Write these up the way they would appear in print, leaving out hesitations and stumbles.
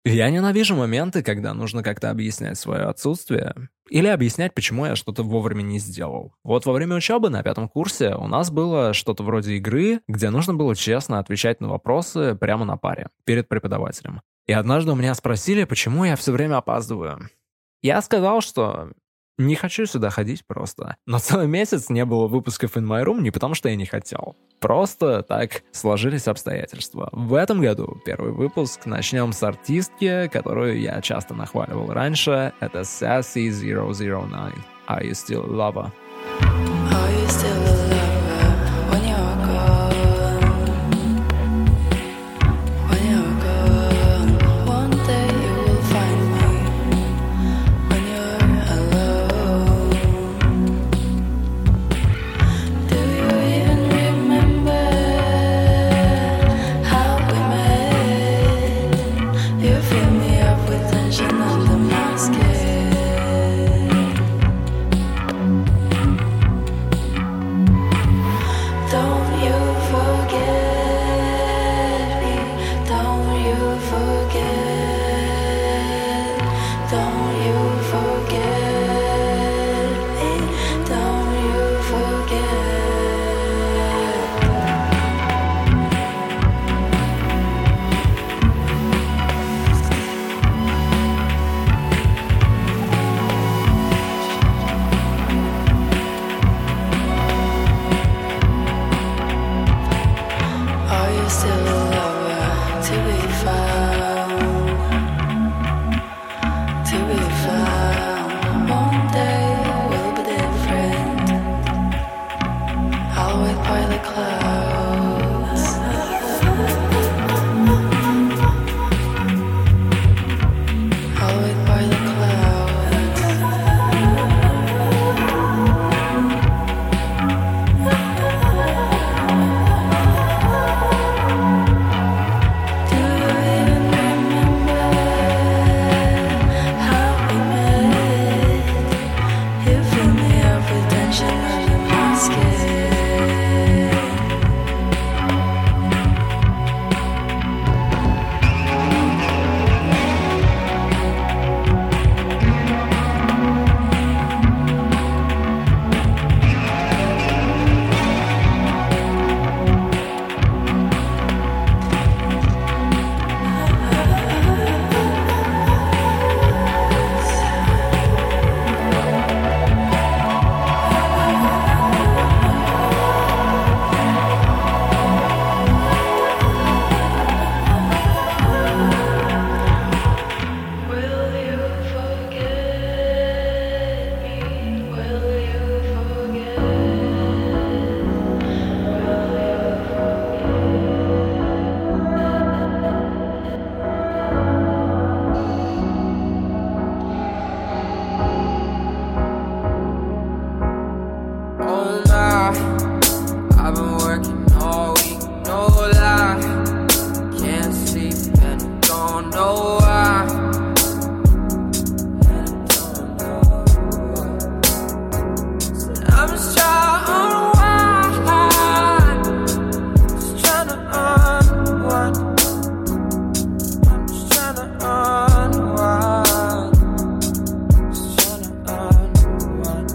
Я ненавижу моменты, когда нужно как-то объяснять свое отсутствие или объяснять, почему я что-то вовремя не сделал. Вот во время учебы на 5 курсе у нас было что-то вроде игры, где нужно было честно отвечать на вопросы прямо на паре, перед преподавателем. И однажды у меня спросили, почему я все время опаздываю. Я сказал, что не хочу сюда ходить просто. Но целый месяц не было выпусков In My Room не потому, что я не хотел. Просто так сложились обстоятельства. В этом году первый выпуск начнем с артистки, которую я часто нахваливал раньше. Это Sassy 009. Are you still a lover? Are you still a lover when you're gone? When you're gone, one day you will find me when you're alone. Do you even remember how we met? You fill me up with tension under my skin. Don't you forget me, don't you forget, don't you forget me, don't you forget. Are you still a lover to be found? To be found. One day will be different. I'll wait by the clouds. I'll wait by the clouds. Do you even remember how we met? You fill me up with tension under my skin. Will you forget me? Will you forget? Oh my, I've been working all week, no lie. Can't sleep and I don't know why. I'm just trying to unwind, just trying to unwind. I'm just trying to unwind, just trying to unwind.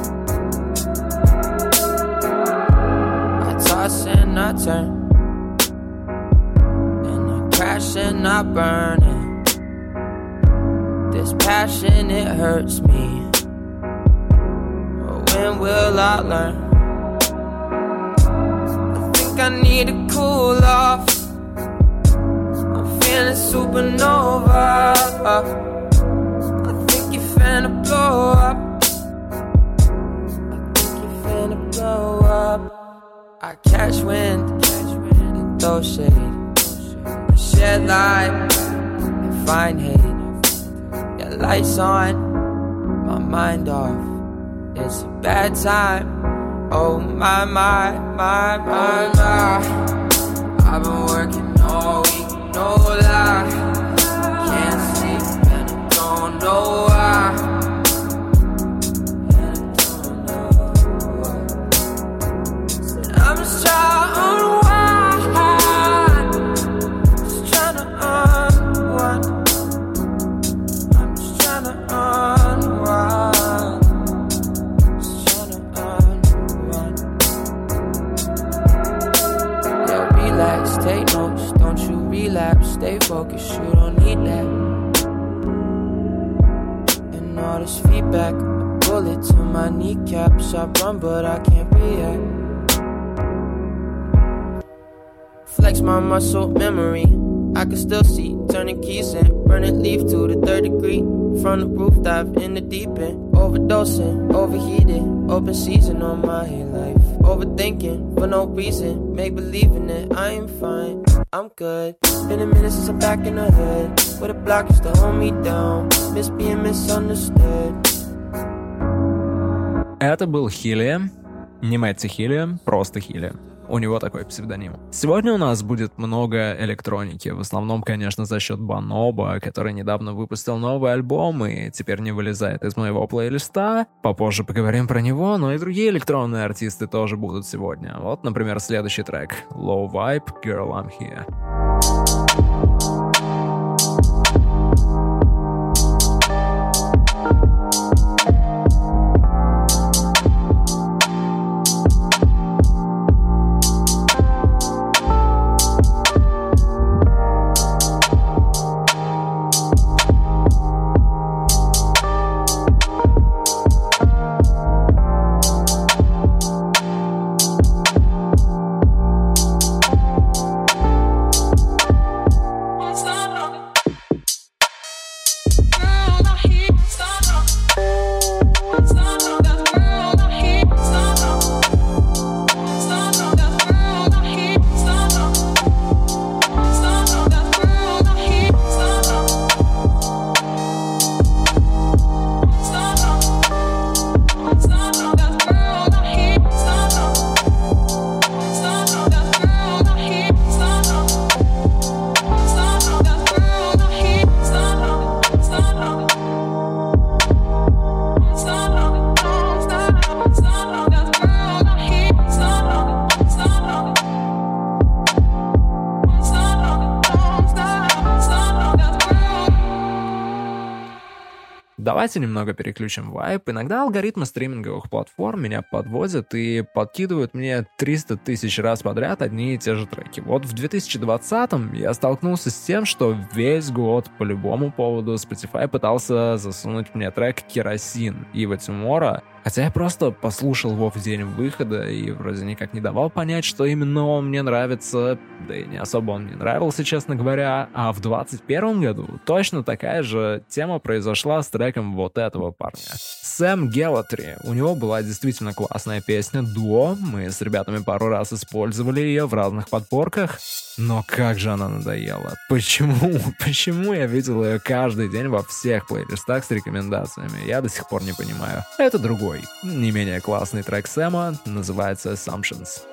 I toss and I turn, and I crash and I burn it. This passion, it hurts me. But when will I learn? I think I need to cool off. I'm feeling supernova. I think you're finna blow up. I think you're finna blow up. I catch wind and throw shade. I shed light and find hate. Yeah, lights on, my mind off. It's a bad time. Oh my, my, my, my, my. I've been working all week, no lie. Can't sleep and I don't know why. And I don't know why. I'm just trying to unwind, just trying to unwind. focus, you don't need that. And all this feedback, a bullet to my kneecaps. I run but I can't react. Flex my muscle memory, I can still see, turning keys in, burning leaf to the 3rd degree. From the roof, dive in the deep end, overdosing, overheated, open season on my life. Overthinking for no reason, make believing that I am fine, I'm good. Been a minute since I'm back in the hood, with a block used to hold me down, miss being misunderstood. Это был Хили, не Мэтти Хили, просто Хили. У него такой псевдоним. Сегодня у нас будет много электроники, в основном, конечно, за счет Bonobo, который недавно выпустил новый альбом и теперь не вылезает из моего плейлиста. Попозже поговорим про него, но и другие электронные артисты тоже будут сегодня. Вот, например, следующий трек Low Vibe, Girl I'm Here. Давайте немного переключим вайб. Иногда алгоритмы стриминговых платформ меня подводят и подкидывают мне 300 тысяч раз подряд одни и те же треки. Вот в 2020-м я столкнулся с тем, что весь год по любому поводу Spotify пытался засунуть мне трек «Керосин» Ива Тимора, хотя я просто послушал его в день выхода и вроде никак не давал понять, что именно он мне нравится, да и не особо он мне нравился, честно говоря. А в 2021 году точно такая же тема произошла с треком вот этого парня. Сэм Гелатри. У него была действительно классная песня «Дуо». Мы с ребятами пару раз использовали ее в разных подборках. Но как же она надоела. Почему я видел ее каждый день во всех плейлистах с рекомендациями? Я до сих пор не понимаю. Это другой, не менее классный трек Сэма, называется Assumptions.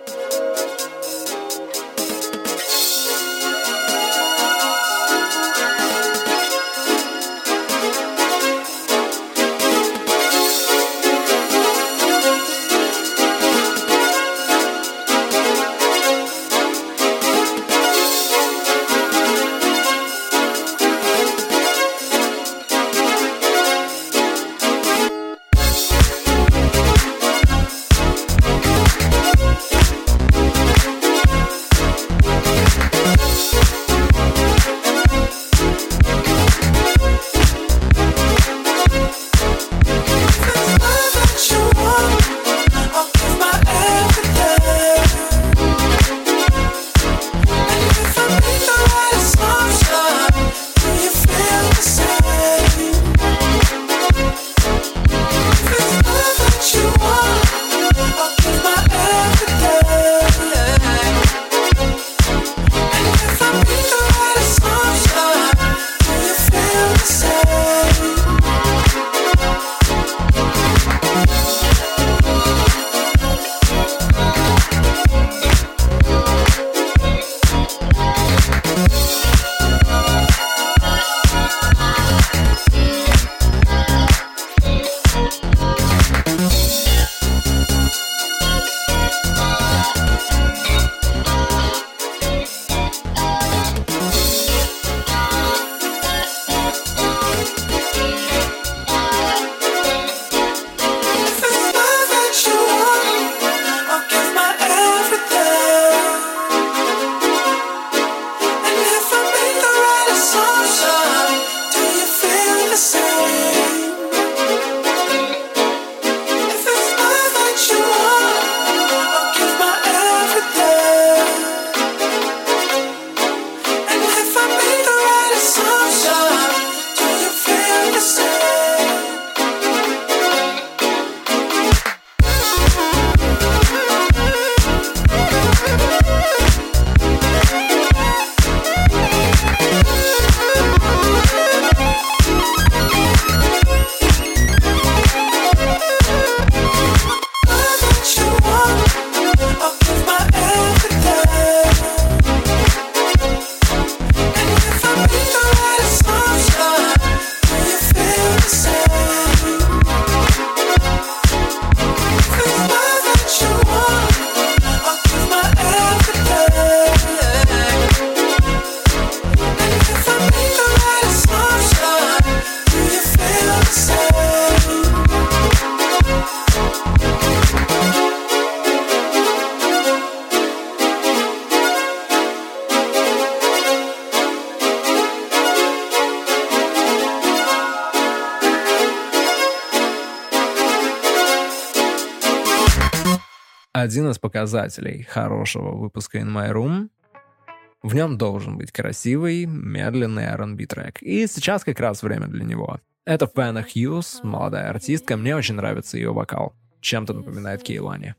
один из показателей хорошего выпуска In My Room. В нем должен быть красивый, медленный R&B трек. И сейчас как раз время для него. Это Fana Hughes, молодая артистка. Мне очень нравится ее вокал. Чем-то напоминает Кейлани.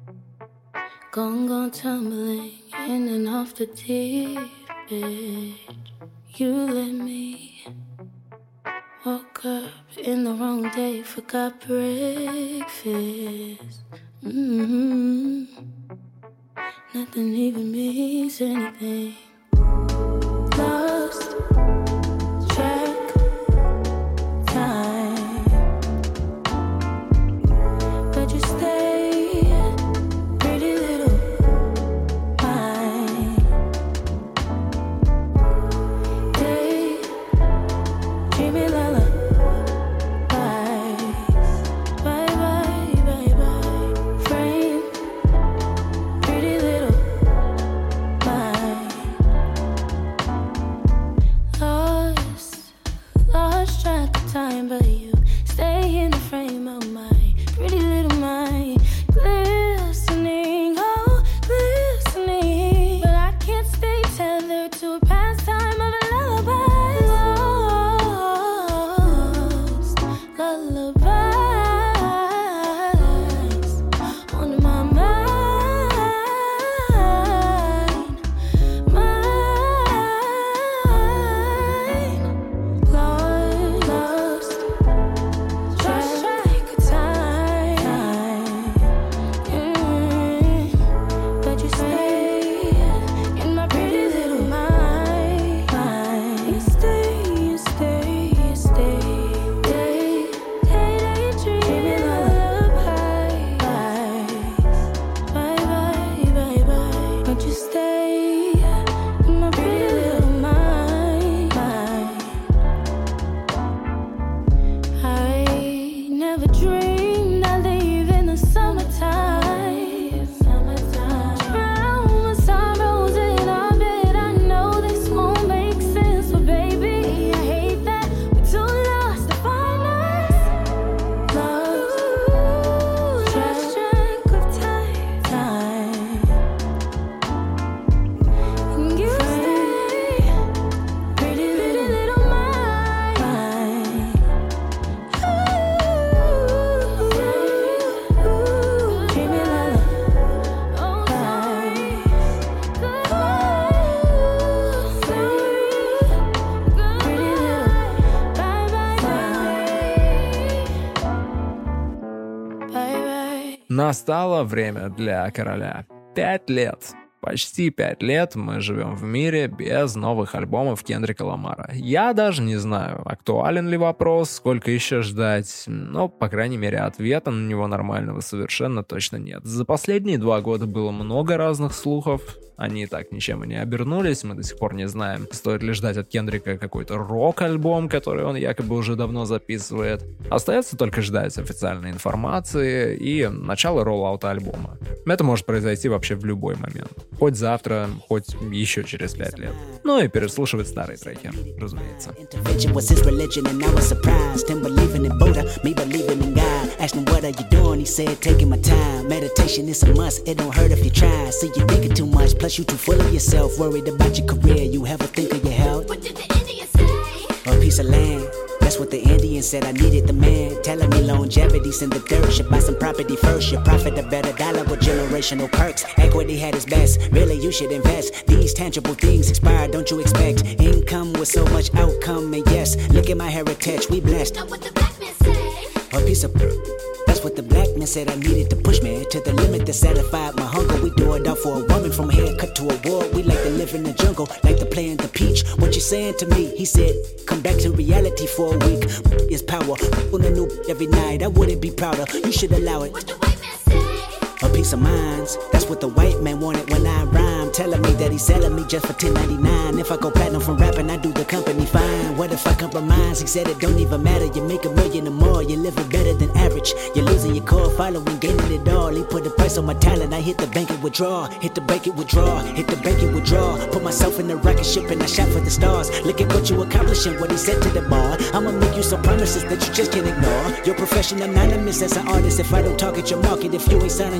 Gone tumbling in and off the deep end. You let me woke up in the wrong day, forgot breakfast. Nothing even means anything. Lost track time, but you stay, pretty little mine. Day dreaming lullabies, bye bye bye bye. Frame, pretty little mine. Lost track of time, but you stay in the frame of my pretty little mind. Glistening, oh, glistening, but I can't stay tethered to a pastime of a lullaby. Lost lullabies on my mind, lost track of time. But you stay in my pretty little mind. You stay, you stay, you stay. Dreaming lullabies. Bye bye bye bye. But you stay in my pretty little mind. I never dreamed I'd leave in the summertime. Drown my sorrows in our bed. I know this won't make sense, but baby, I hate that we're too lost to find us. Lost track of time. And you stay, pretty little mind. Dreaming lullabies. Oh, sorry. Pretty little. Bye bye bye. Bye bye. Настало время для короля. 5 лет. Почти 5 лет мы живем в мире без новых альбомов Кендрика Ламара. Я даже не знаю, актуален ли вопрос, сколько еще ждать, но, по крайней мере, ответа на него нормального совершенно точно нет. За последние 2 года было много разных слухов, они так ничем и не обернулись, мы до сих пор не знаем, стоит ли ждать от Кендрика какой-то рок-альбом, который он якобы уже давно записывает. Остается только ждать официальной информации и начала роллаута альбома. Это может произойти вообще в любой момент. Хоть завтра, хоть еще через 5 лет. Ну и переслушивать старые треки, разумеется. Intervention was his religion, and I was surprised. Him believing in Buddha, me believing in God. Asked him, what are you doing? He said, taking my time. Meditation is a must, it don't hurt if you try. See, you're thinking too much, plus you too full of yourself. Worried about your career, you ever think of your health? What did the Indians say? A piece of land. That's what the Indian said, I needed the man. Telling me longevity's in the dirt. Should buy some property first. Should profit a better dollar with generational perks. Equity had its best. Really, you should invest. These tangible things expire, don't you expect? Income with so much outcome, and yes, look at my heritage, we blessed. Know what the black men say? A piece of that's what the black man said I needed to push me to the limit that satisfied my hunger. We do it all for a woman, from haircut to a war. We like to live in the jungle, like to play in the peach. What you saying to me? He said, come back to reality for a week. Is power on a new every night. I wouldn't be prouder. You should allow it. What the white man say? A piece of minds. That's what the white man wanted when I rhyme. Telling me that he's selling me just for $10.99. If I go platinum from rapping, I do the company fine. What if I compromise? He said it don't even matter. You make $1 million or more. You're living better than average. You're losing your core following, gaining it all. He put a price on my talent. I hit the bank and withdraw. Hit the bank and withdraw. Hit the bank and withdraw. Put myself in the rocket ship and I shot for the stars. Look at what you accomplishing. What he said to the bar. I'ma make you some promises that you just can't ignore. Your profession anonymous as an artist. If I don't target your market, if you ain't signing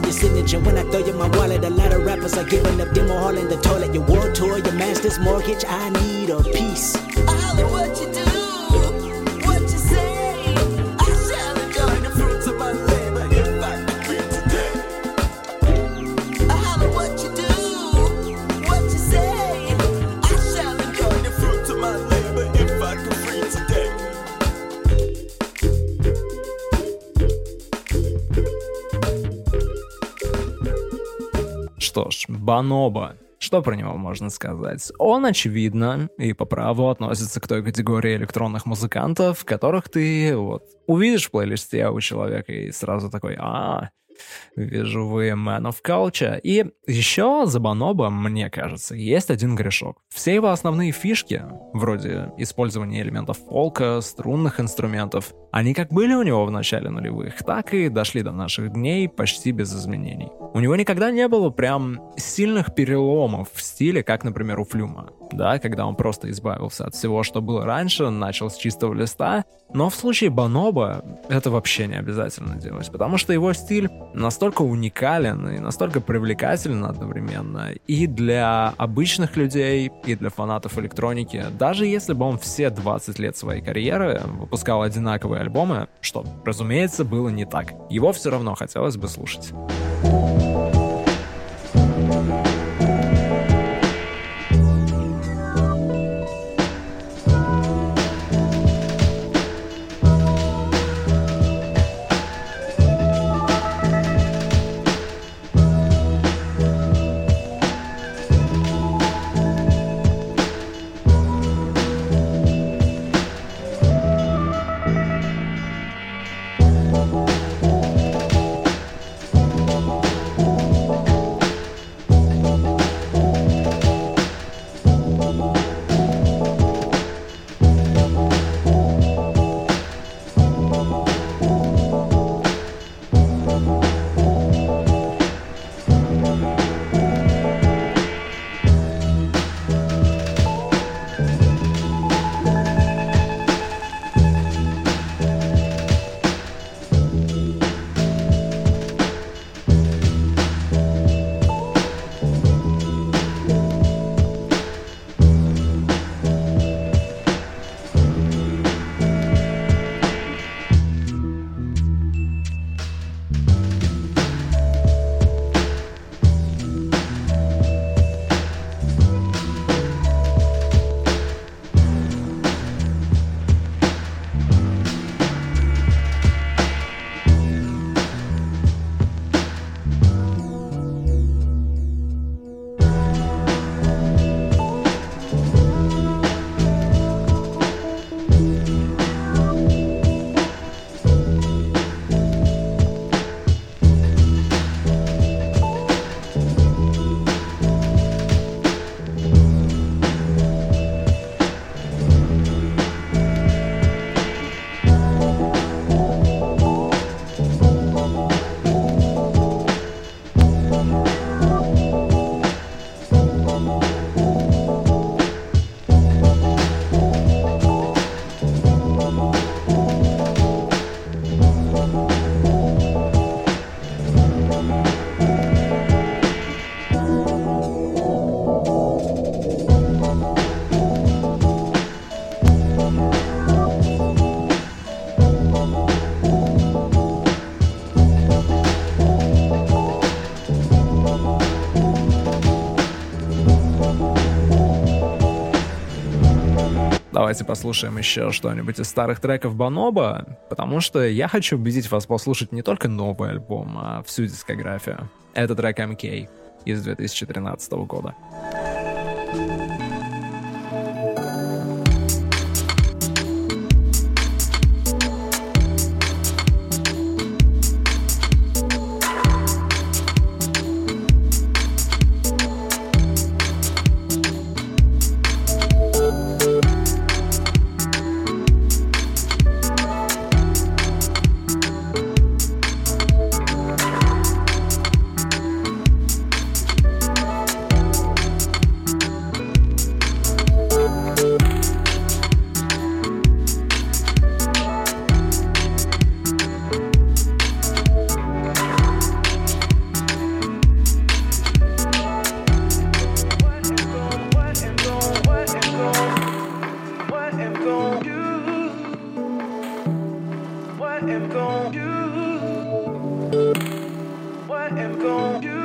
your signature. When I throw you my wallet, a lot of rappers are giving up demo hall in the toilet. Your world tour, your master's mortgage, I need a piece. I holler what you do, what you say. I shall enjoy the fruits of my labor if I could be today. I holler what you do, what you say. I shall enjoy the fruits of my labor if I could free today. Что ж, Бонобо. Что про него можно сказать? Он, очевидно, и по праву относится к той категории электронных музыкантов, которых ты вот увидишь в плейлисте у человека и сразу такой: вижу, вы man of culture. И еще за Бонобо, мне кажется, есть один грешок. Все его основные фишки, вроде использования элементов фолка, струнных инструментов, они как были у него в начале нулевых, так и дошли до наших дней почти без изменений. У него никогда не было прям сильных переломов в стиле, как, например, у Флюма. Да, когда он просто избавился от всего, что было раньше, начал с чистого листа. Но в случае Бонобо это вообще не обязательно делать, потому что его стиль настолько уникален и настолько привлекателен одновременно и для обычных людей, и для фанатов электроники. Даже если бы он все 20 лет своей карьеры выпускал одинаковые альбомы, что, разумеется, было не так, его все равно хотелось бы слушать. Давайте послушаем еще что-нибудь из старых треков Бонобо, потому что я хочу убедить вас послушать не только новый альбом, а всю дискографию. Это трек MK из 2013 года. am gon' do? What am gon' do?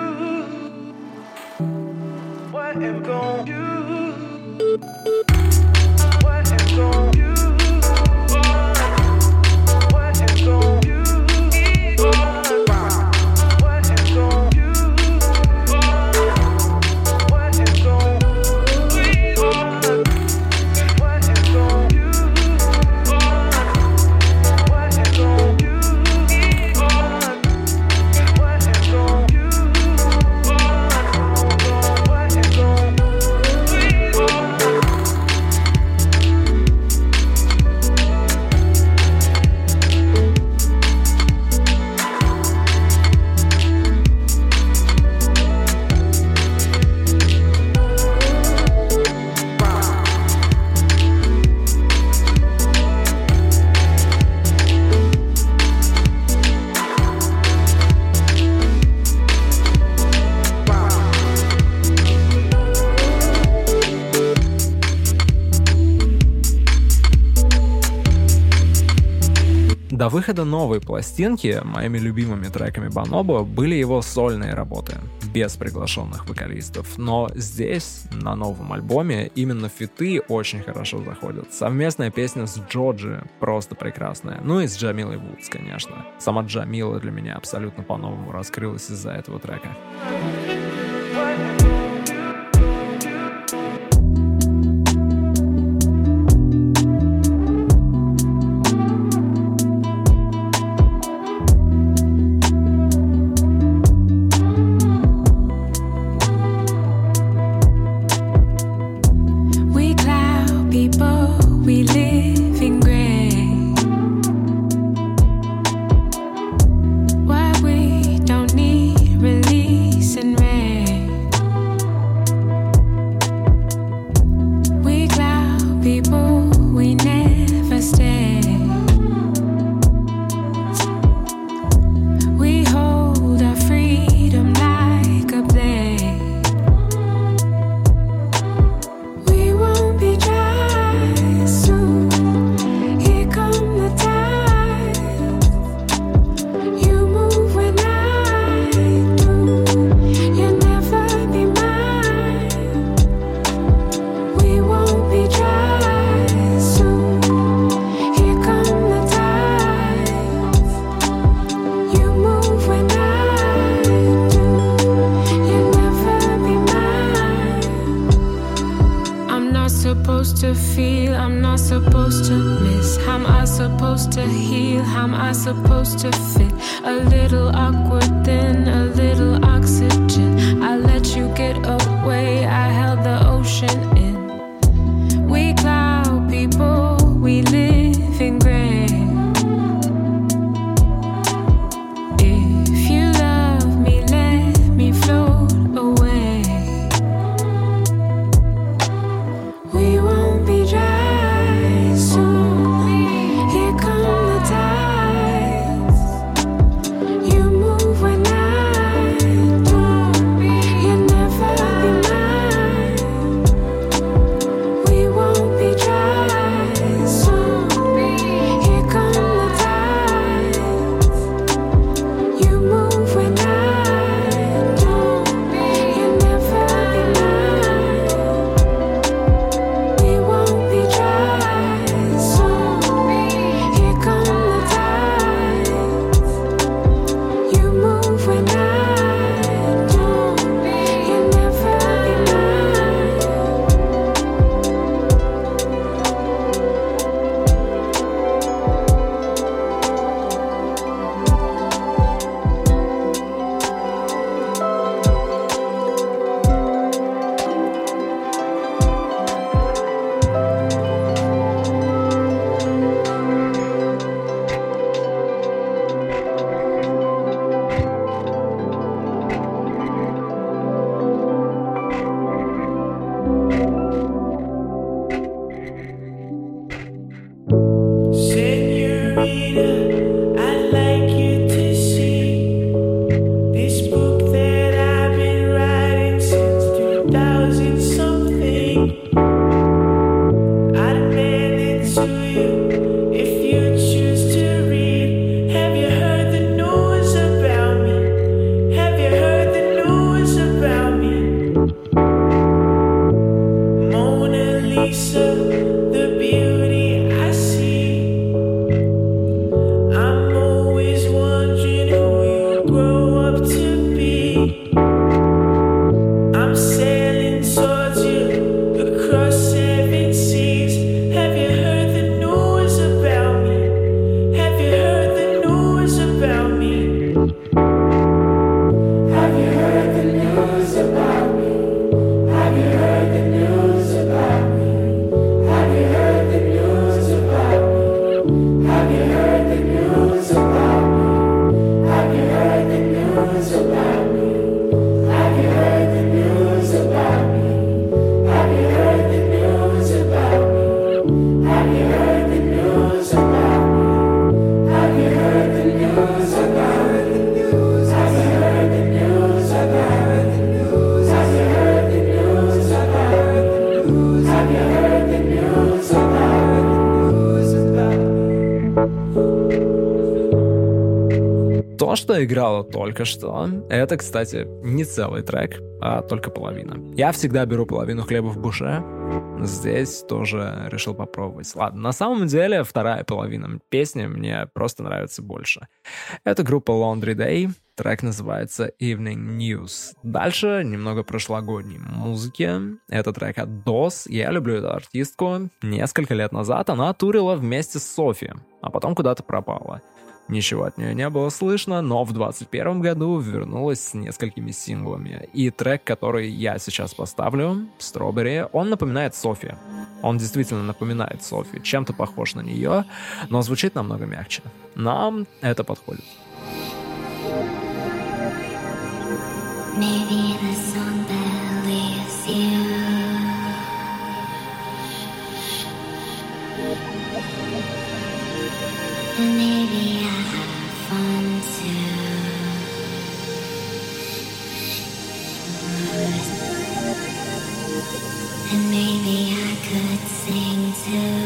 What am gon' do? What am gon' do? What am gon' do? What am gon' do? What am gon' До выхода новой пластинки моими любимыми треками Бонобо были его сольные работы, без приглашенных вокалистов. Но здесь, на новом альбоме, именно фиты очень хорошо заходят. Совместная песня с Джоджи просто прекрасная. Ну и с Джамилой Вудс, конечно. Сама Джамила для меня абсолютно по-новому раскрылась из-за этого трека. We live in gray. Why we don't need release and rain. We cloud people, we never stay. We hold our freedom like a blade. We won't be dry. To feel, I'm not supposed to miss. How am I supposed to heal? How am I supposed to fit? A little awkward, then a little oxygen. I let you get away, I held the ocean in. We cloud people, we live in gray. If you love me, let me float away. We won't be dry soon. Here come the tides. You move when I do. You'll never be mine. We won't be dry soon. Here come the tides. You move when I do. You'll never be mine. We won't be dry soon. Here come the tides. You move when I do. You'll never be mine. Senorita, I'd like you to see this book that I've been writing since 2000 something. I'd mail it to you if you choose to read. То, что играло только что, это, кстати, не целый трек, а только половина. Я всегда беру половину хлеба в буше. Здесь тоже решил попробовать. Ладно, на самом деле вторая половина песни мне просто нравится больше. Это группа Laundry Day. Трек называется Evening News. Дальше немного прошлогодней музыки. Это трек от DOS. Я люблю эту артистку. Несколько лет назад она турила вместе с Софи, а потом куда-то пропала. Ничего от нее не было слышно, но в 2021 году вернулась с несколькими синглами. И трек, который я сейчас поставлю, Strawberry, он напоминает Софи. Он действительно напоминает Софи, чем-то похож на нее, но звучит намного мягче. Нам это подходит. Maybe the song that leaves you. And maybe I have fun too. And maybe I could sing too.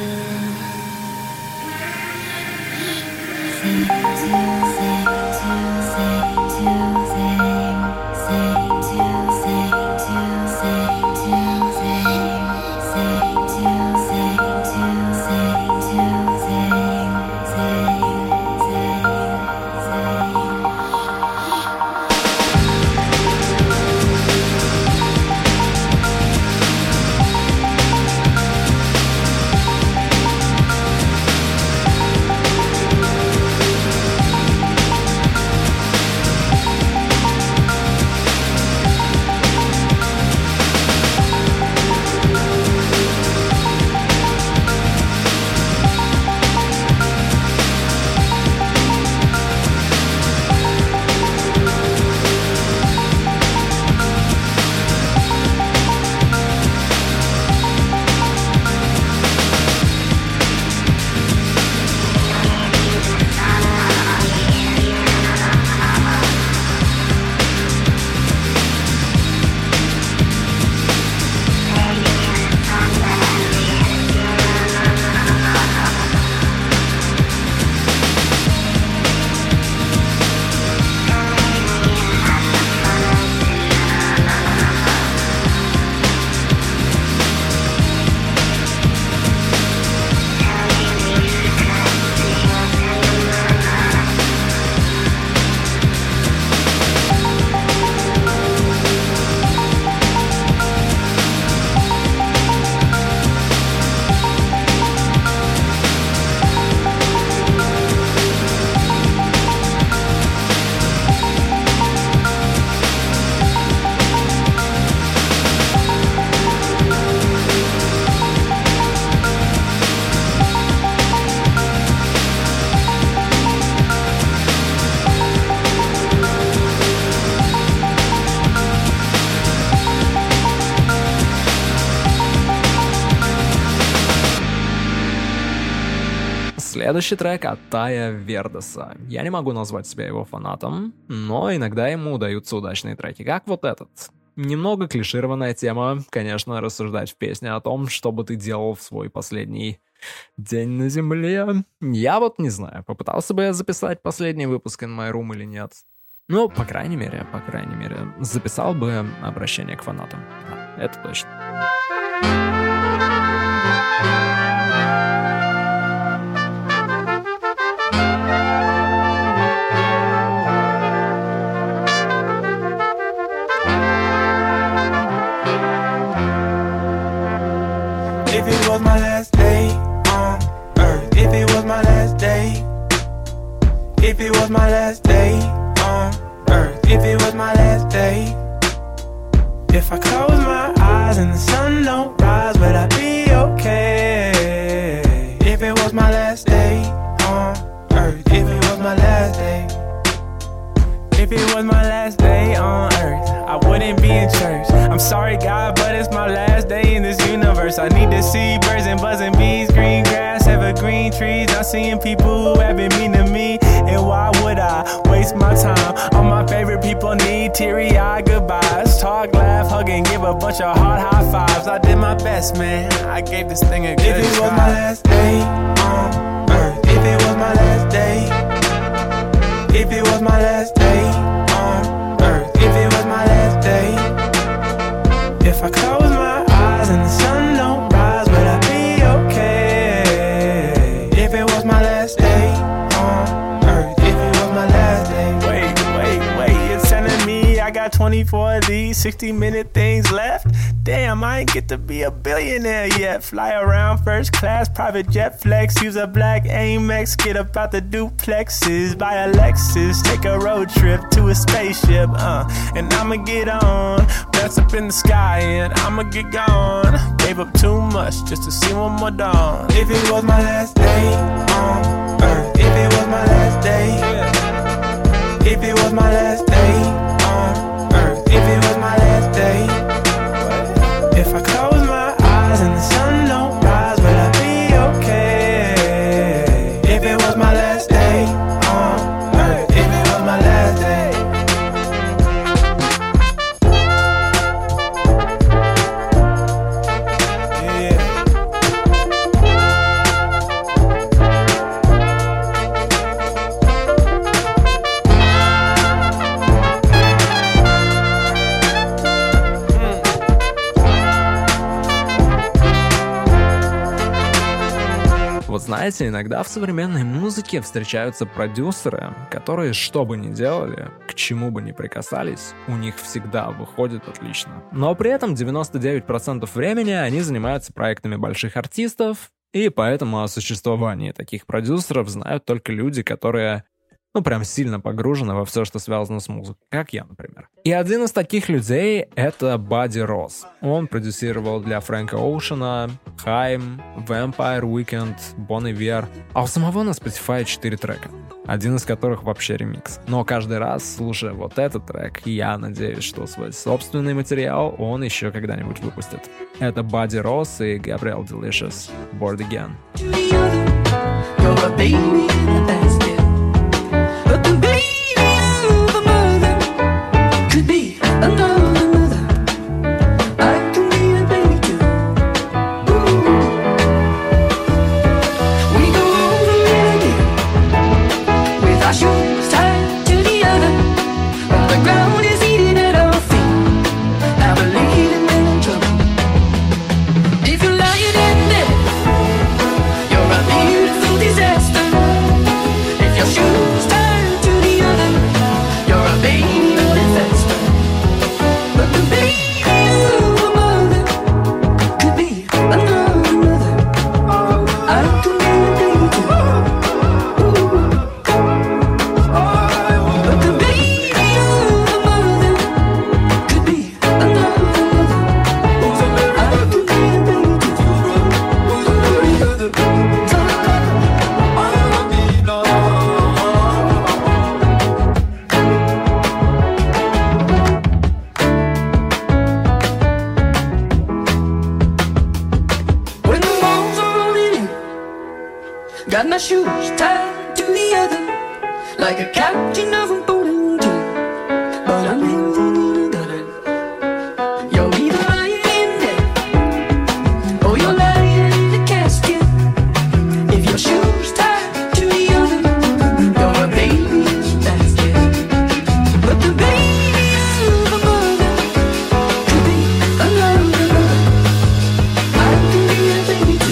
Следующий трек от Тая Вердеса. Я не могу назвать себя его фанатом, но иногда ему удаются удачные треки, как вот этот. Немного клишированная тема, конечно, рассуждать в песне о том, что бы ты делал в свой последний день на земле. Я вот не знаю, попытался бы я записать последний выпуск In My Room или нет. Ну, по крайней мере, записал бы обращение к фанатам. Да, это точно. If it was my last day on earth, if it was my last day, if it was my last day on earth, if it was my last day, if I close my eyes and the sun don't rise, would I be okay? If it was my last day on earth, if it was my last day, if it was my last day on earth, I wouldn't be in church. I'm sorry, God, but it's my last day in this universe. I need to see birds and buzzing bees, green grass, evergreen trees. I'm seeing people who have been mean to me, and why would I waste my time? All my favorite people need teary-eyed goodbyes. Talk, laugh, hug, and give a bunch of hard high fives. I did my best, man. I gave this thing a good try. If it was my last day on earth, if it was my last day, if it was my last got 24 of these 60-minute things left. Damn, I ain't get to be a billionaire yet. Fly around first class, private jet flex. Use a black Amex, get up out the duplexes. Buy a Lexus, take a road trip to a spaceship. And I'ma get on, bounce up in the sky and I'ma get gone. Gave up too much just to see one more dawn. If it was my last day on earth, if it was my last day, if it was my last day on earth, if it was my last day, if I close my eyes and the sun don't rise, will I be okay? If it was my last day on earth, if it was my last day. Вот знаете, иногда в современной музыке встречаются продюсеры, которые, что бы ни делали, к чему бы ни прикасались, у них всегда выходит отлично. Но при этом 99% времени они занимаются проектами больших артистов, и поэтому о существовании таких продюсеров знают только люди, которые прям сильно погружены во все, что связано с музыкой, как я, например. И один из таких людей — это Бадди Росс. Он продюсировал для Фрэнка Оушена, Хайм, Vampire Weekend, Bon Iver, а у самого на Spotify 4 трека, один из которых вообще ремикс. Но каждый раз, слушая вот этот трек, я надеюсь, что свой собственный материал он еще когда-нибудь выпустит. Это Бадди Росс и Gabrielle Delicious, Bored Again. You're a baby in a basket. But the baby of a mother could be another mother. I can be a baby too. Ooh. We go over it again with our shoes tied to the other. While the ground is eating at our feet, I believe in men in trouble. If you're lying in bed, you're a beautiful disaster. If your shoes tied to the other, you're a baby running faster. But the baby of a mother could be another mother. I could be a baby too. But the baby of a mother could be another mother. I could be a baby too. When the walls are rolling in, got my shoes tied to the other, like a captain of a boating team. But I'm living in a gutter. You're either lying in bed, or you're lying in a casket. If your shoes tied to the other, you're a baby in a basket. But the baby of a mother could be another mother. I can be a baby too.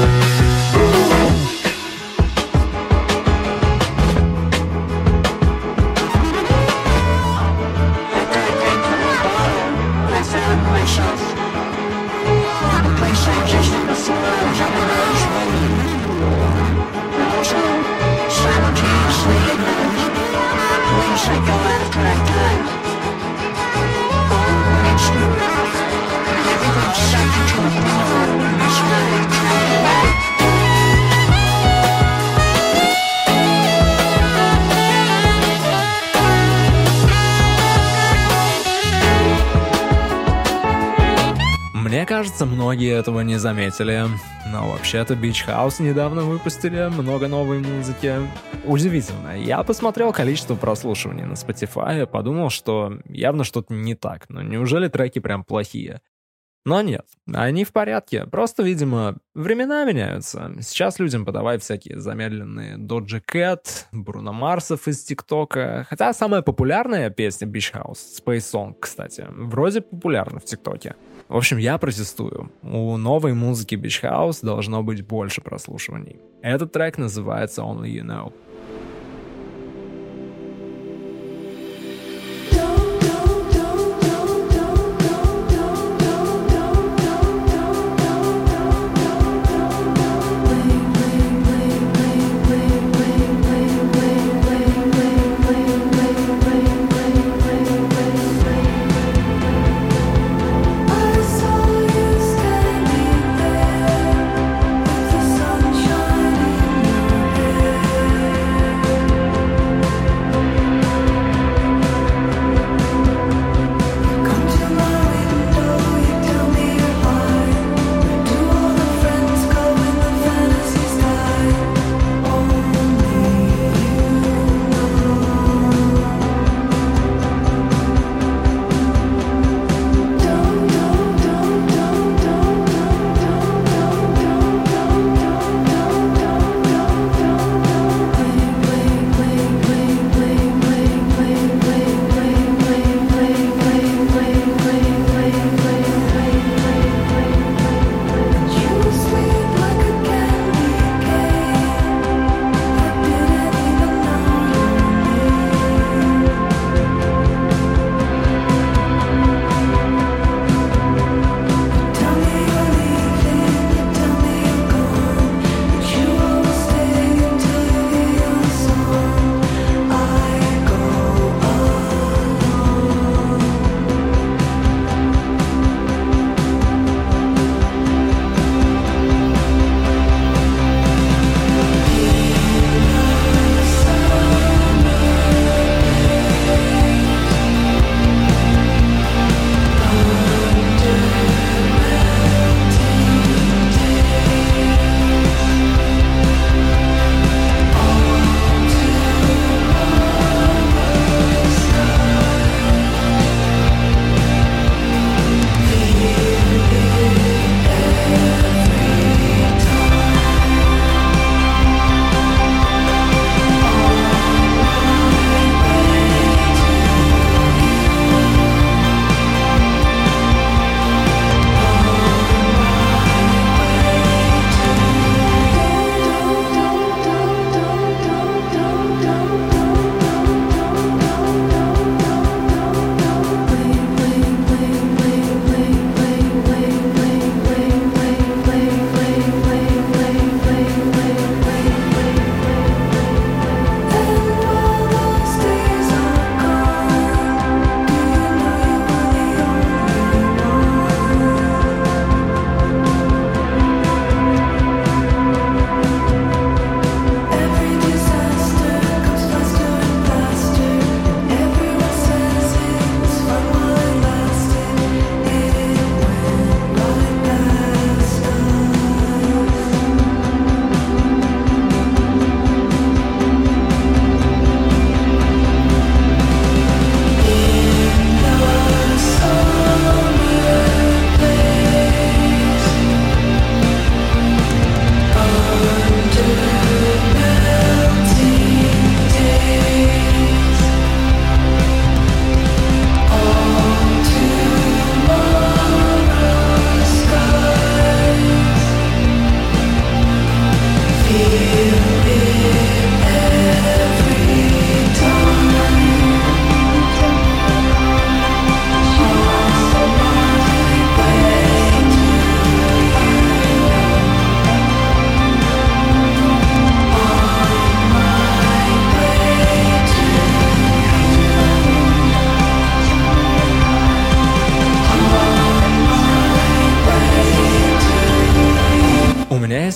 Мне кажется, многие этого не заметили, но вообще-то Beach House недавно выпустили много новой музыки. Удивительно, я посмотрел количество прослушиваний на Spotify и подумал, что явно что-то не так, но неужели треки прям плохие? Но нет, они в порядке, просто, видимо, времена меняются. Сейчас людям подавай всякие замедленные Doja Cat, Бруно Марсов из ТикТока. Хотя самая популярная песня Beach House, Space Song, кстати, вроде популярна в ТикТоке. В общем, я протестую. У новой музыки Beach House должно быть больше прослушиваний. Этот трек называется Only You Know. Don't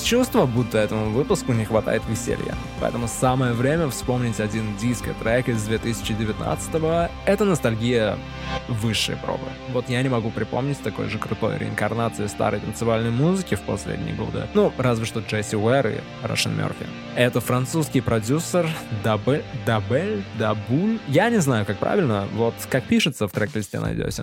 чувство, будто этому выпуску не хватает веселья. Поэтому самое время вспомнить один диско-трек из 2019-го. Это ностальгия высшей пробы. Вот я не могу припомнить такой же крутой реинкарнации старой танцевальной музыки в последние годы. Ну, разве что Джесси Уэр и Рошен Мерфи. Это французский продюсер Дабуль. Я не знаю, как правильно. Вот как пишется, в трек-листе найдете.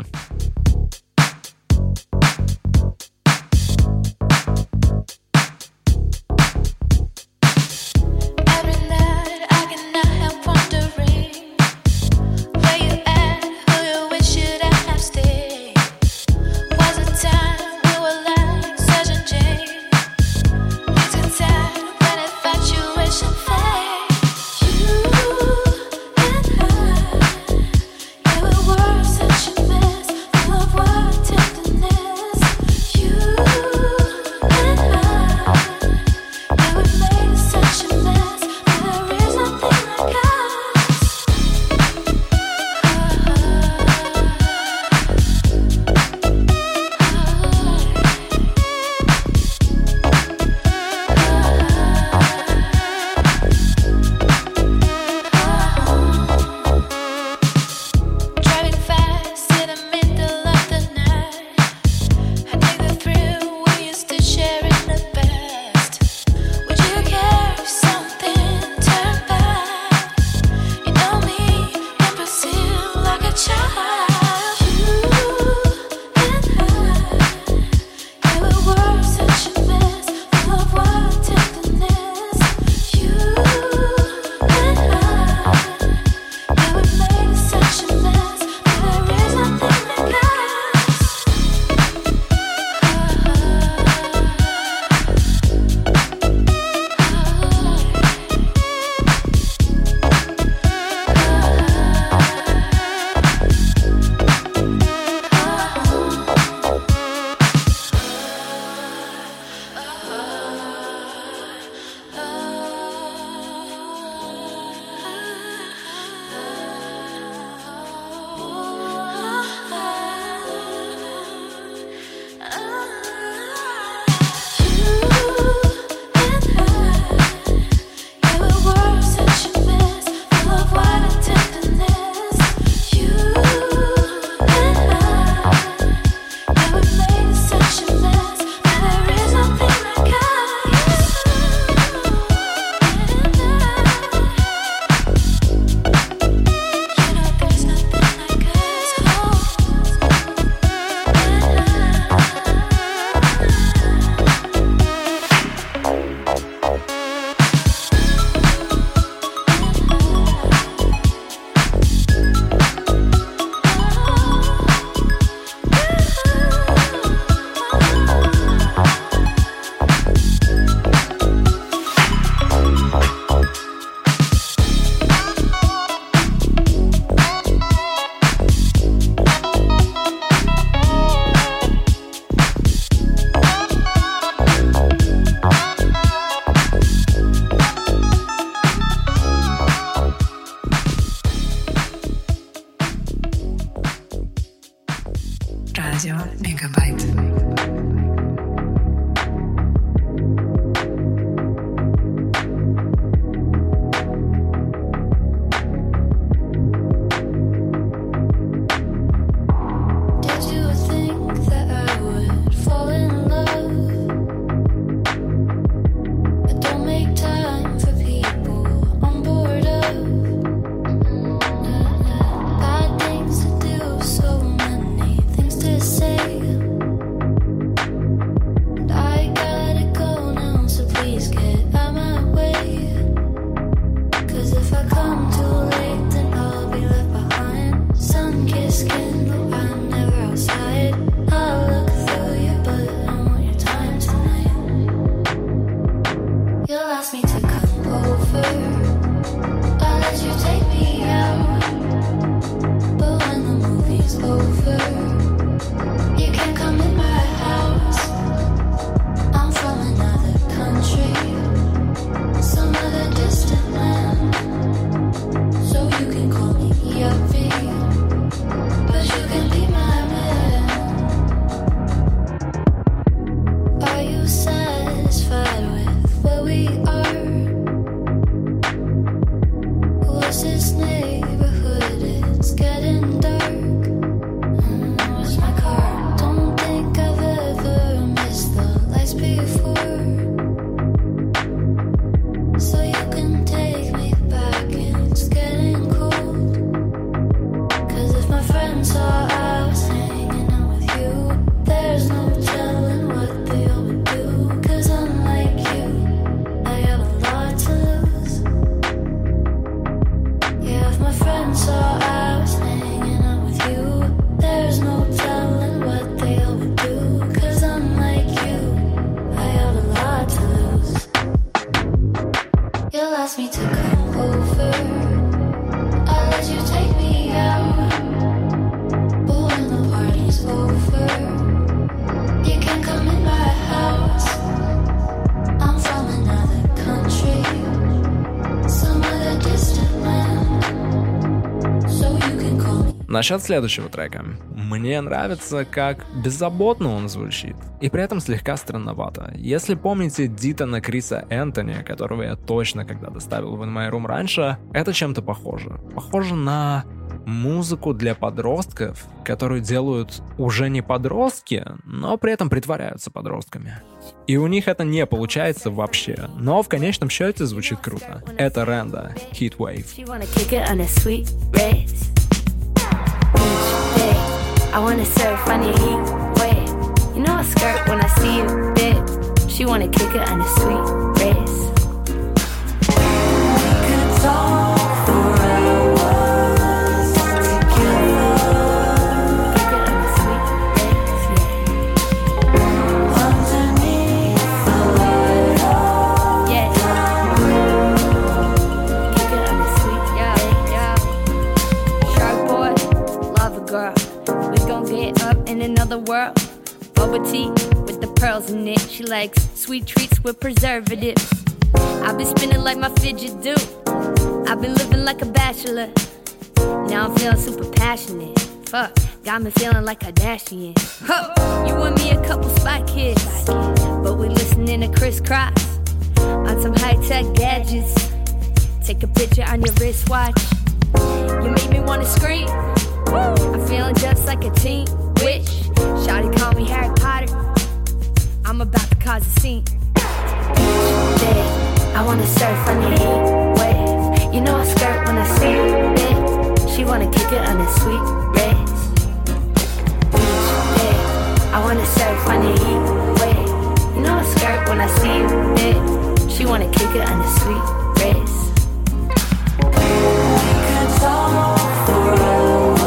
Worse than she missed. You'll ask me to come over. I'll let you take me out. But when the party's over, you can come in my house. I'm from another country, some other distant land. So you can call me. Насчет следующего трека. Мне нравится, как беззаботно он звучит, и при этом слегка странновато. Если помните Дитона Криса Энтони, которого я точно когда-то ставил в In My Room раньше, это чем-то похоже. Похоже на музыку для подростков, которую делают уже не подростки, но при этом притворяются подростками. И у них это не получается вообще, но в конечном счете звучит круто. Это Ренда, Heatwave. She wanna kick it on a sweet race. Each day, I wanna surf on your heat wave. You know I skirt when I see you, bitch. She wanna kick it on a sweet race. We could talk for hours together. Kick it on a sweet race, yeah. Underneath the light of yeah. Kick it on a sweet race, yeah. Shark boy, love a girl. We gon' get up in another world. Bubble tea with the pearls in it. She likes sweet treats with preservatives. I've been spinning like my fidget do. I've been living like a bachelor. Now I'm feeling super passionate. Fuck, got me feeling like Kardashian. Huh, you and me a couple spy kids, but we listening to crisscross on some high-tech gadgets. Take a picture on your wristwatch. You make me wanna scream. I'm feeling just like a teen witch. Shawty call me Harry Potter. I'm about to cause a scene. Each day, I wanna surf on your heat wave. You know I skirt when I see you, bitch. She wanna kick it on a sweet race. Each day, I wanna surf on your heat wave. You know I skirt when I see you, bitch. She wanna kick it on a sweet race. We could talk for hours.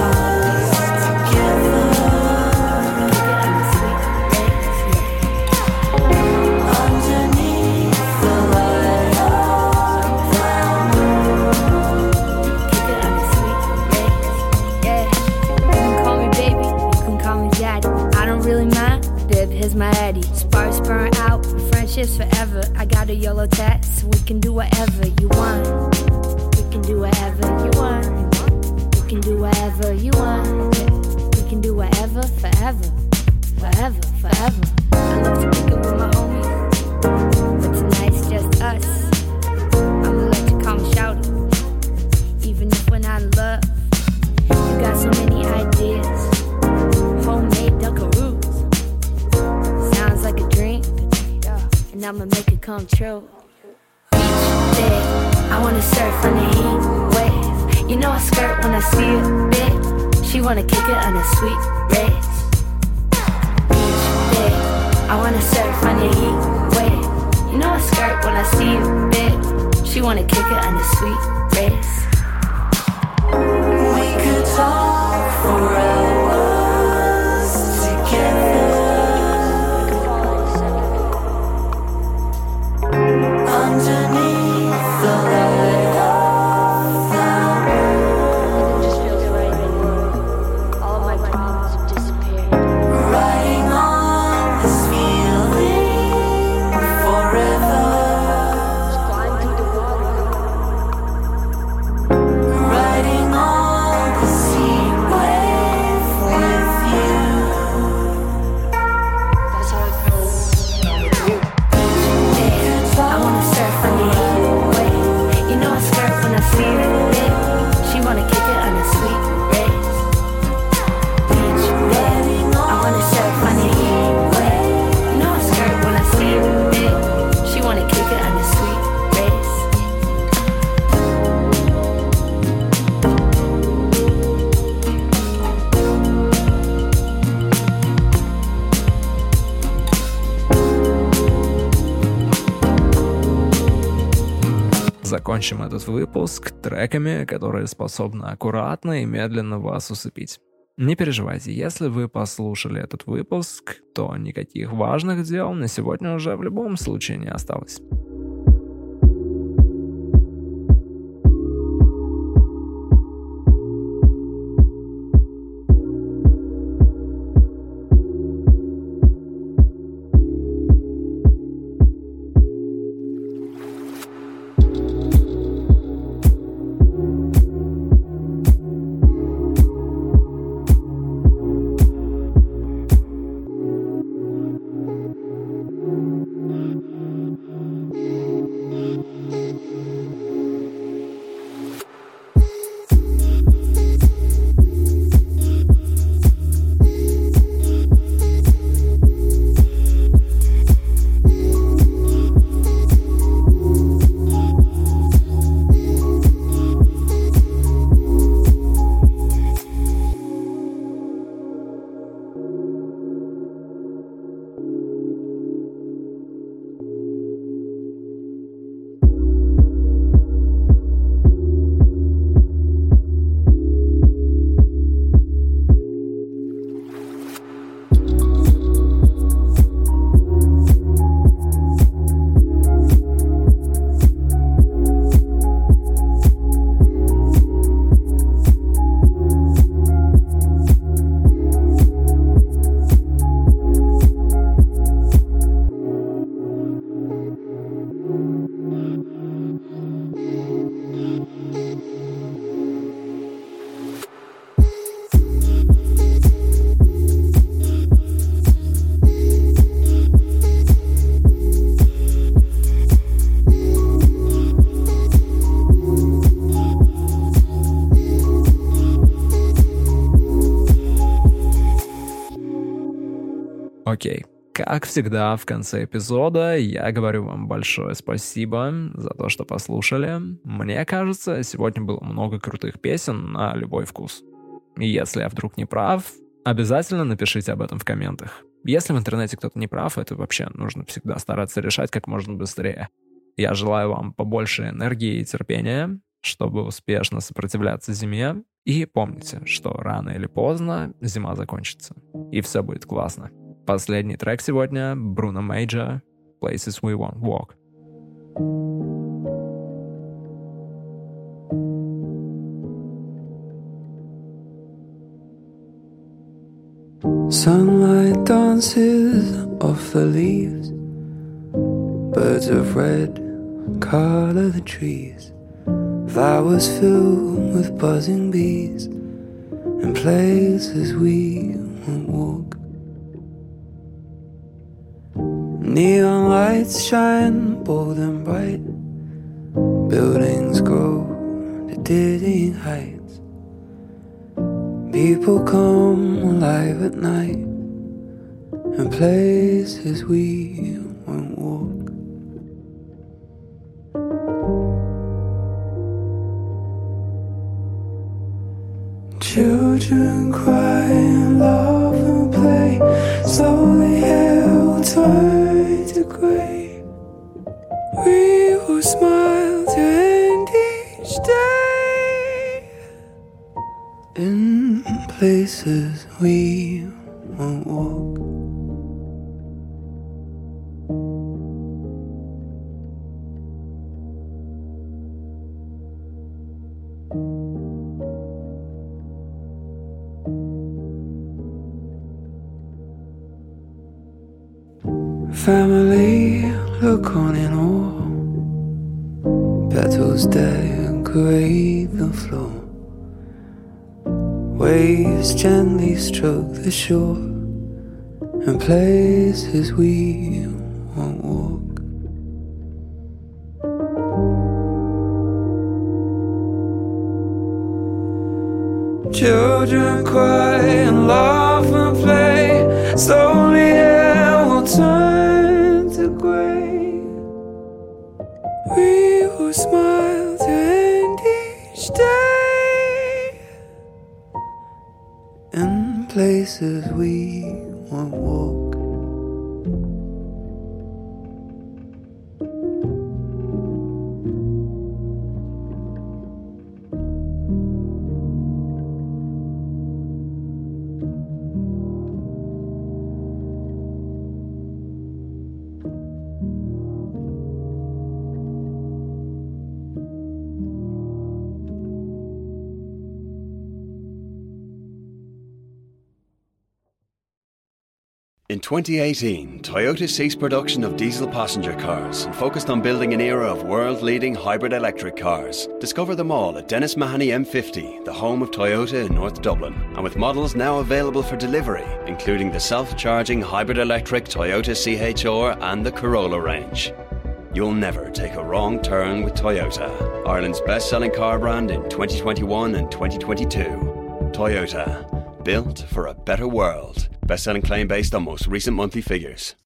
Here's my Eddie. Sparks burn out, friendships forever. I got a yellow tat, so we can do whatever you want. We can do whatever you want. We can do whatever you want. We can do whatever, forever. Forever, forever. I love to kick it with my homies, but tonight's just us. I'ma let you call me shouty, even if we're not in love. You got so many ideas, homemade Dunkaroos. Sounds like a dream, and I'ma make it come true. Each day, I wanna surf on the heat wave. You know I skirt when I see you, bitch. She wanna kick it on a sweet race. Each day, I wanna surf on the heat wave. You know I skirt when I see you, bitch. She wanna kick it on a sweet race. We could talk for hours together. Underneath the light of the moon. It just feels right. All my problems have disappeared. Riding on this feeling forever. Just flying through the water. Riding on the sea wave with you. That's how it feels with you. I wanna surf on the heat wave. You know I skirt when I see you, bitch. She wanna kick it on a sweet race. Each day, I wanna surf on the heat wave. You know I skirt when I see you, bitch. She wanna kick it on a sweet race. Закончим этот выпуск треками, которые способны аккуратно и медленно вас усыпить. Не переживайте, если вы послушали этот выпуск, то никаких важных дел на сегодня уже в любом случае не осталось. Окей. Как всегда, в конце эпизода я говорю вам большое спасибо за то, что послушали. Мне кажется, сегодня было много крутых песен на любой вкус. И если я вдруг не прав, обязательно напишите об этом в комментах. Если в интернете кто-то не прав, это вообще нужно всегда стараться решать как можно быстрее. Я желаю вам побольше энергии и терпения, чтобы успешно сопротивляться зиме. И помните, что рано или поздно зима закончится. И все будет классно. Последний трек сегодня — Bruno Major, Places We Won't Walk. Sunlight dances off the leaves. Birds of red color the trees. Flowers filled with buzzing bees. And places we won't walk. Neon lights shine bold and bright. Buildings grow to dizzying heights. People come alive at night. And places we won't walk. Children cry and laugh and play. Slowly hair will turn to grey. We will smile to end each day. In places we won't walk. Family look on in awe. Petals decorate the floor. Waves gently stroke the shore. And places we won't walk. Children cry and laugh and play. Slowly air will turn to grey. We will smile to end each day. In places we won't walk. In 2018, Toyota ceased production of diesel passenger cars and focused on building an era of world-leading hybrid electric cars. Discover them all at Dennis Mahoney M50, the home of Toyota in North Dublin. And with models now available for delivery, including the self-charging hybrid electric Toyota CHR and the Corolla range. You'll never take a wrong turn with Toyota. Ireland's best-selling car brand in 2021 and 2022. Toyota. Built for a better world. Best-selling claim based on most recent monthly figures.